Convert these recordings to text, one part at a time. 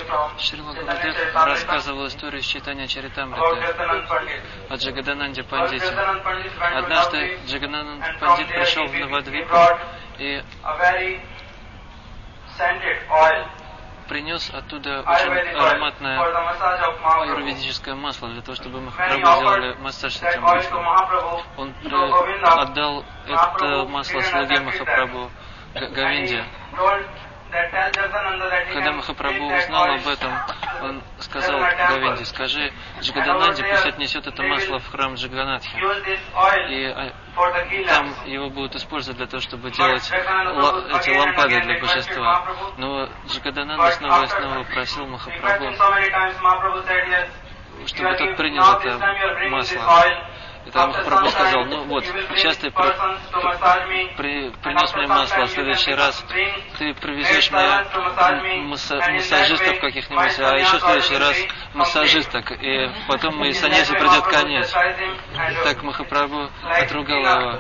Шрила Гурудев рассказывал историю Чайтанья Чаритамриты о Джагадананде Пандите. Однажды Джагадананд Пандит пришел в Навадвипу и принес оттуда очень ароматное аюрведическое масло для того, чтобы Махапрабху сделали массаж с этим маслом. Он отдал это масло слуге Махапрабху Говинде. Когда Махапрабху узнал об этом, он сказал Говинде: скажи Джагадананде, пусть отнесет это масло в храм Джаганатхи. И там его будут использовать для того, чтобы делать эти лампады для божества. Но Джагадананда снова и снова просил Махапрабху, чтобы тот принял это масло. И там Махапрабху сказал: ну вот, сейчас ты принес мне масло, а в следующий раз ты привезешь мне массажистов каких-нибудь, а еще в следующий раз массажисток, и потом и саньяси придет конец. Так Махапрабху отругал его.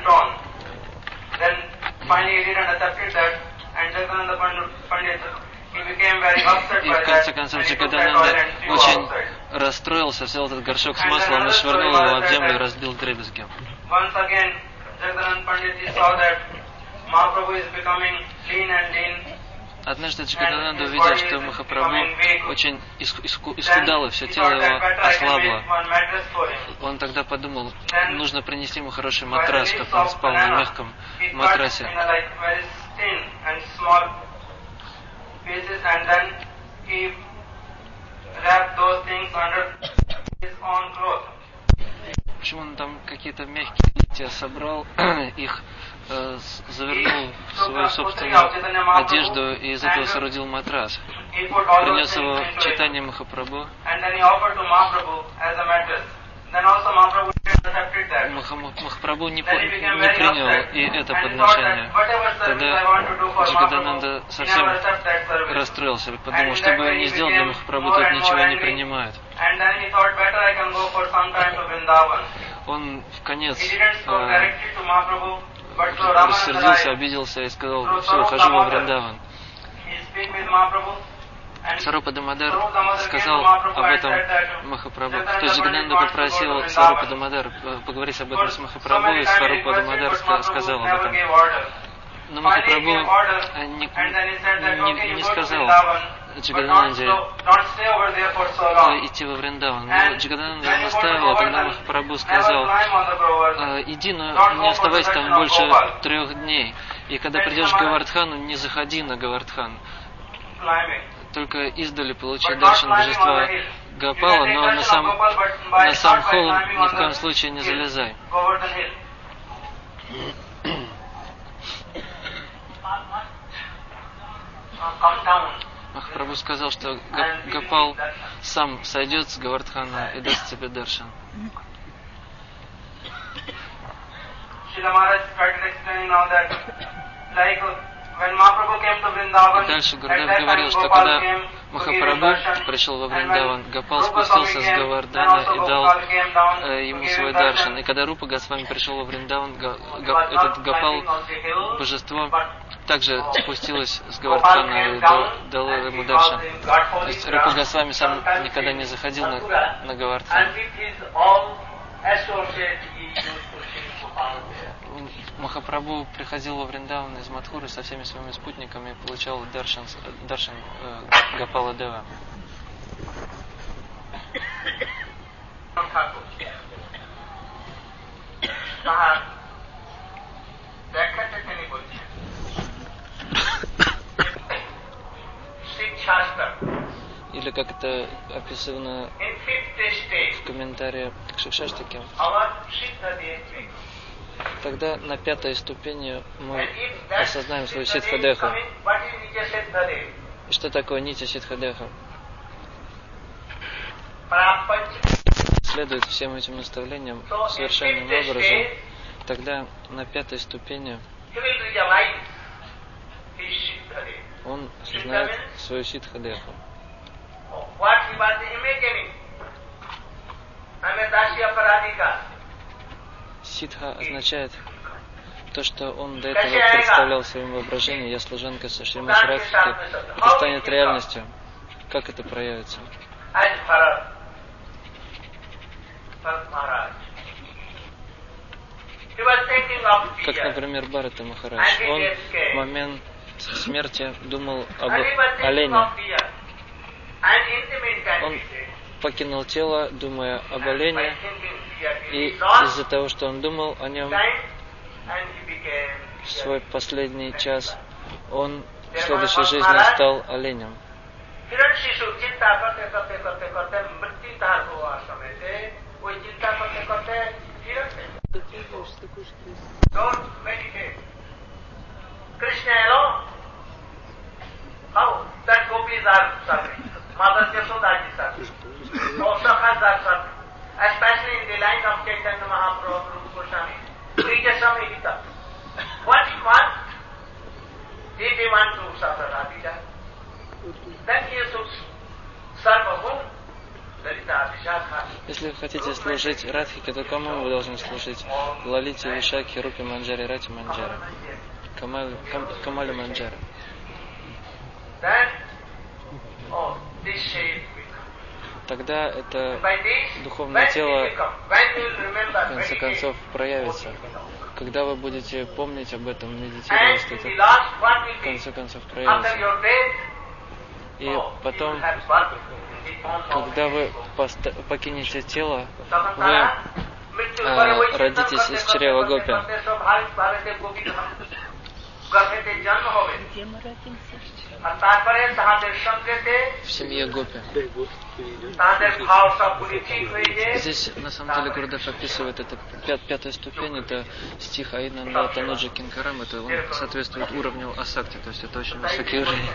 И в конце концов Джагадананда очень расстроился, взял этот горшок с маслом и швырнул его в землю и разбил вдребезги. Однажды Джагадананда увидел, что Махапрабху очень исхудал, и все тело его ослабло. Он тогда подумал, нужно принести ему хороший матрас, чтобы он спал на мягком матрасе. And then he wrapped those things under his own clothes. Почему он там какие-то мягкие листья собрал, их завернул в свою собственную одежду и из этого соорудил матрас. Принес его Чайтанья Махапрабху. Махапрабху не принял и это подношение. Тогда Джагадананда совсем расстроился, подумал, что бы он ни сделал для Махапрабху, тот ничего не принимает. Он в конец рассердился, обиделся и сказал: все, ухожу во Вриндаван. Сварупа Дамодар сказал об этом Махапрабху. То есть Джагадананда попросил Сварупа Дамодар поговорить об этом с Махапрабху, и Сварупа Дамодар сказал об этом. Но Махапрабху не сказал Джагадананде идти во Вриндаван. Но Джагадананда наставила, тогда Махапрабху сказал: иди, но не оставайся там больше 3 дней. И когда придешь к Говардхану, не заходи на Говардхан. Только издали получи даршан божества Гопала, но на сам холм ни в коем случае не залезай. Махапрабху сказал, что Гопал сам сойдет с Говардхана и даст тебе даршан. И дальше Гурудев говорил, что когда Махапрабху пришел во Вриндаван, Гопал спустился с Говардхана и дал ему свой даршан. И когда Рупа Госвами пришел во Вриндаван, этот Гопал, божество, также спустилось с Говардхана и дал ему даршан. То есть Рупа Госвами сам никогда не заходил на Говардхан. Махапрабху приходил во Вриндаван из Мадхуры со всеми своими спутниками и получал даршан Гопала Дева. Или как это описано в комментарии к Шикшаштаке. Тогда на 5-й ступени мы осознаем свою ситхадеху. И что такое нитя ситхадеха? Следует всем этим наставлениям совершенным образом. Тогда на 5-й ступени он осознает свою ситхадеху. Ситха означает то, что он до этого представлял в своем воображении: я служанка со Шримати Радхики. Это станет реальностью, как это проявится? Как, например, Бхарата Махарадж. Он в момент смерти думал об олене. Он покинул тело, думая об олене, и из-за того, что он думал о нем в свой последний час, он в следующей жизни стал оленем. Especially in the line of Chaitanya Mahaprabhu, Rupa Goswami, Sri Gita. What he wants, if he wants to serve Radhika, then he should serve whom? Lalita Vishakha. Если вы хотите служить Радхике, то кому вы должны служить? Лалите, Вишаке, Рупе Манджаре, Рати Манджаре, Камале Манджаре. Then, тогда это духовное тело в конце концов проявится. Когда вы будете помнить об этом, медитировать, это в конце концов проявится. И потом, когда вы покинете тело, вы родитесь из чрева Гопи. Где мы родимся? В семье Гопи. Здесь на самом деле Гурудев описывает это пятая ступень, это стих Аинанда Тануджа Кинкарам, это он соответствует уровню Асакти, то есть это очень высокий уровень.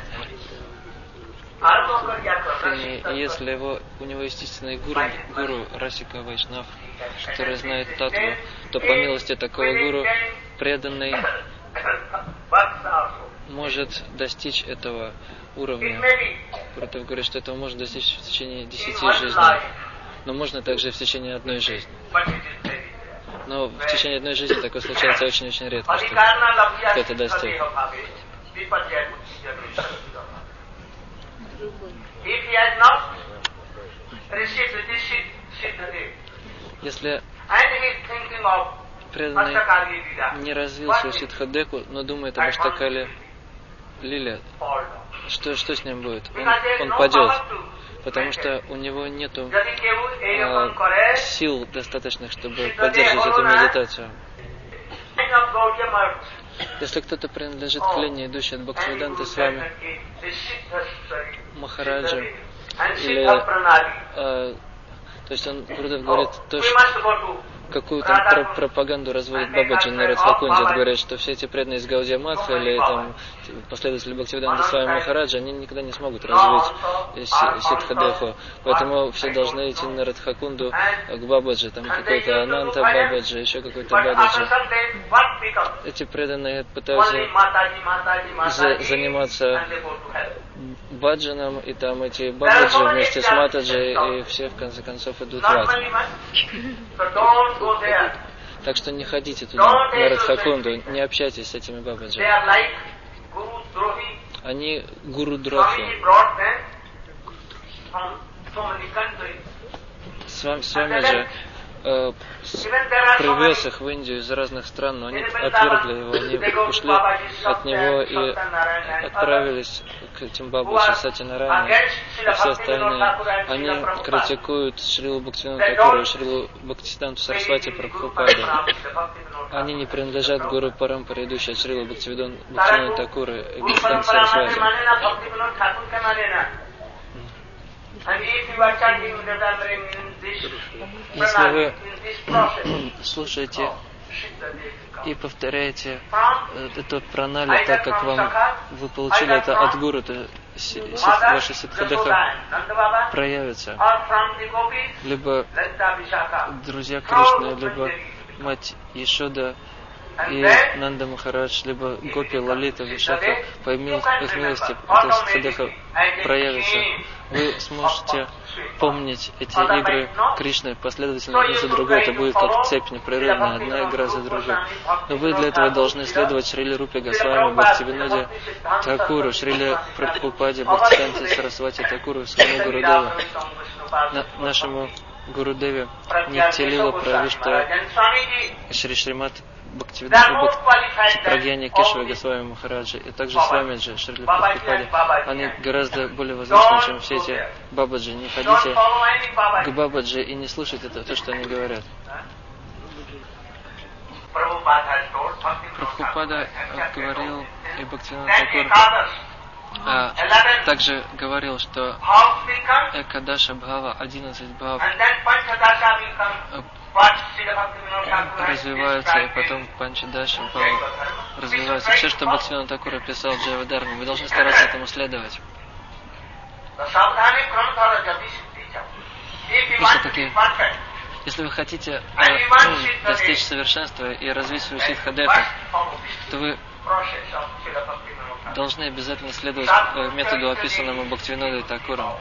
И если у него есть истинный гуру Расика Вайшнав, который знает татву, то по милости такого гуру преданный может достичь этого уровня. Гурудев говорит, что этого можно достичь в течение 10 жизней. Но можно также в течение одной жизни. Но в течение одной жизни такое случается очень-очень редко, что кто-то достиг. Если преданный не развил свою сиддхадеку, но думает об Аштакале Лиле, что с ним будет? Он падет, потому что у него нету сил достаточных, чтобы поддерживать эту медитацию. Если кто-то принадлежит к линии, идущей от Бхактивиданты с вами, Махараджа, или то есть он, Гурудев говорит, то, что какую там пропаганду разводит Бабаджи на Радхакунде, говорят, что все эти преданные из Гаудия Матха или там последователи Бхактивиданты с вами Махараджа, они никогда не смогут развить сиддхадеху, поэтому все должны идти на Радхакунду к Бабаджи, там какой-то Ананта Бабаджи, еще какой-то Бабаджи. Эти преданные пытаются заниматься баджаном, и там эти Бабаджи вместе с Матаджи, и все в конце концов идут в ад. Так что не ходите туда, на Радхакунду, не общайтесь с этими Бабаджи. Они гуру-дрохи. С вами же привез их в Индию из разных стран, но они отвергли его, они ушли от него и отправились к этим Бабаджи, Сатинарайне и все остальные. Они критикуют Шрилу Бхактивинода Такуру и Шрилу Бхактисиддханту Сарасвати Прабхупаду. Они не принадлежат гуру Парампаре, идущей от Шрилы Бхактивинода Такуры и Бхактисиддханта Сарасвати. Если вы слушаете и повторяете эту пранали так, как вы получили это от гуру, то ваша сиддхадеха проявится. Либо друзья Кришны, либо мать Ешода, и Нанда Махарадж, либо Гопи, Лалита, Вишака, по милости эта Сиддхартха проявится. Вы сможете помнить эти игры Кришны последовательно одну за другой. Это будет как цепь непрерывная, одна игра за другой. Но вы для этого должны следовать Шриле Рупе Госвами, Бхактивиноде Такуру, Шриле Прабхупаде, Бхактисиданте Сарасвати Такуру, своему Гурудеву, нашему Гурудеве Нитья-лила Правишта Шри Шримат Бхактивинода Прагьяни Кешава Госвами Махараджи, и также с вами же Шрили Прабхупаде. Они гораздо более возвышенны, чем все эти бабаджи. Не ходите к бабаджи и не слушайте то, что они говорят. Прабхупада говорил, и Бхактивинода Такур также говорил, что Экадаша Бхава, 11 бхав развиваются, и потом Панчадаша Бхава развиваются. Все, что Бхактивинода Такур описал в Джайвадарме, вы должны стараться этому следовать. Просто-таки, если вы хотите достичь совершенства и развить свою сиддхадету, то вы должны обязательно следовать методу, описанному Бхактивинодой Такуром.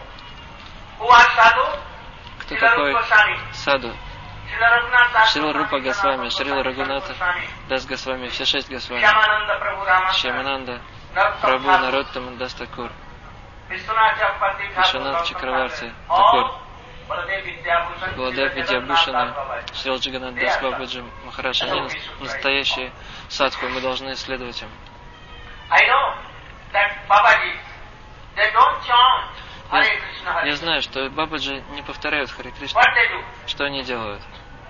Кто такой саду? Шрила Рупа Госвами, Шрила Рагунатха Дас Госвами, все 6 Госвами, Шьямананда, Прабху Нароттама Дас Такур, Вишванат Чакраварти Такур, Баладев Видьябушана, Шрила Джаганат Дас Бабаджи Махарадж. Они настоящие садху, и мы должны следовать им. Я знаю, что бабаджи не повторяют Харе Кришна. Что они делают?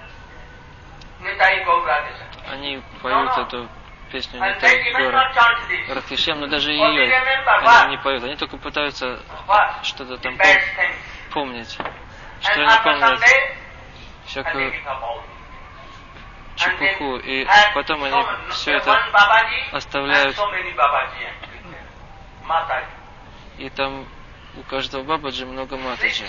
Они поют эту песню Нитай Гора Радхишьям, но даже ее они не поют. Они только пытаются что-то там помнить. Что они помнят? Всякую чепуху. И потом они все это оставляют. И там у каждого бабаджи много матаджи.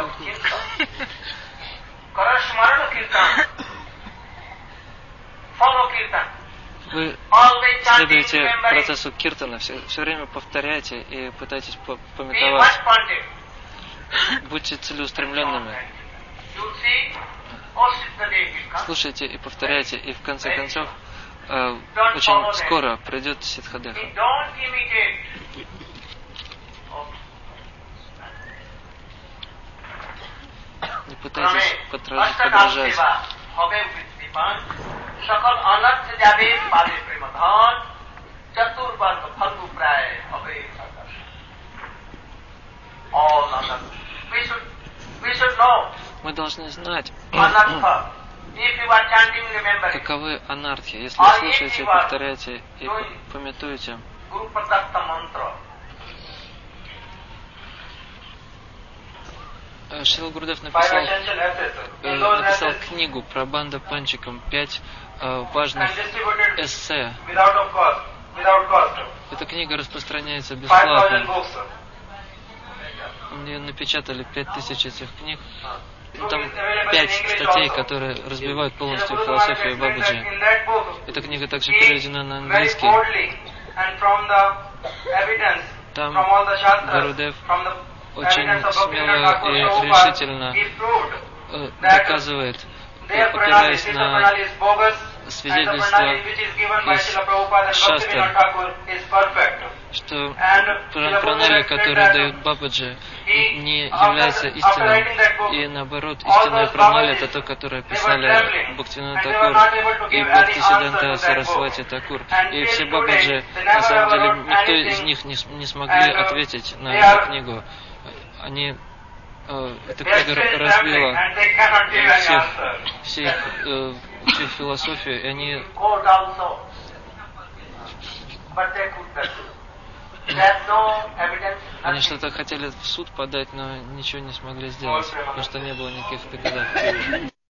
Вы следуете процессу киртана, все время повторяйте и пытайтесь пометовать. Будьте целеустремленными. Слушайте и повторяйте, и в конце концов очень скоро придет сиддхадеха. Не пытайтесь подражать. Мы должны знать, каковы анартхи. Если вы слушаете, повторяете и памятуете Шрила Гурудев написал книгу про Банда Панчикам, 5 важных эссе. Эта книга распространяется бесплатно. Мне напечатали 5000 этих книг. Там 5 статей, которые разбивают полностью философию Бабаджи. Эта книга также переведена на английский. Там Гурудев очень смело и решительно доказывает, опираясь на свидетельства из шастр, что пранали, которые дают Бабаджи, не является истинным, и наоборот, истинная пранали это то, которое писали Бхактивинода Такур и Бхактисиданта Сарасвати Такур. И все Бабаджи, на самом деле, никто из них не смогли ответить на эту книгу. Эта книга разбила всю философию, и они что-то хотели в суд подать, но ничего не смогли сделать, потому что не было никаких доказательств.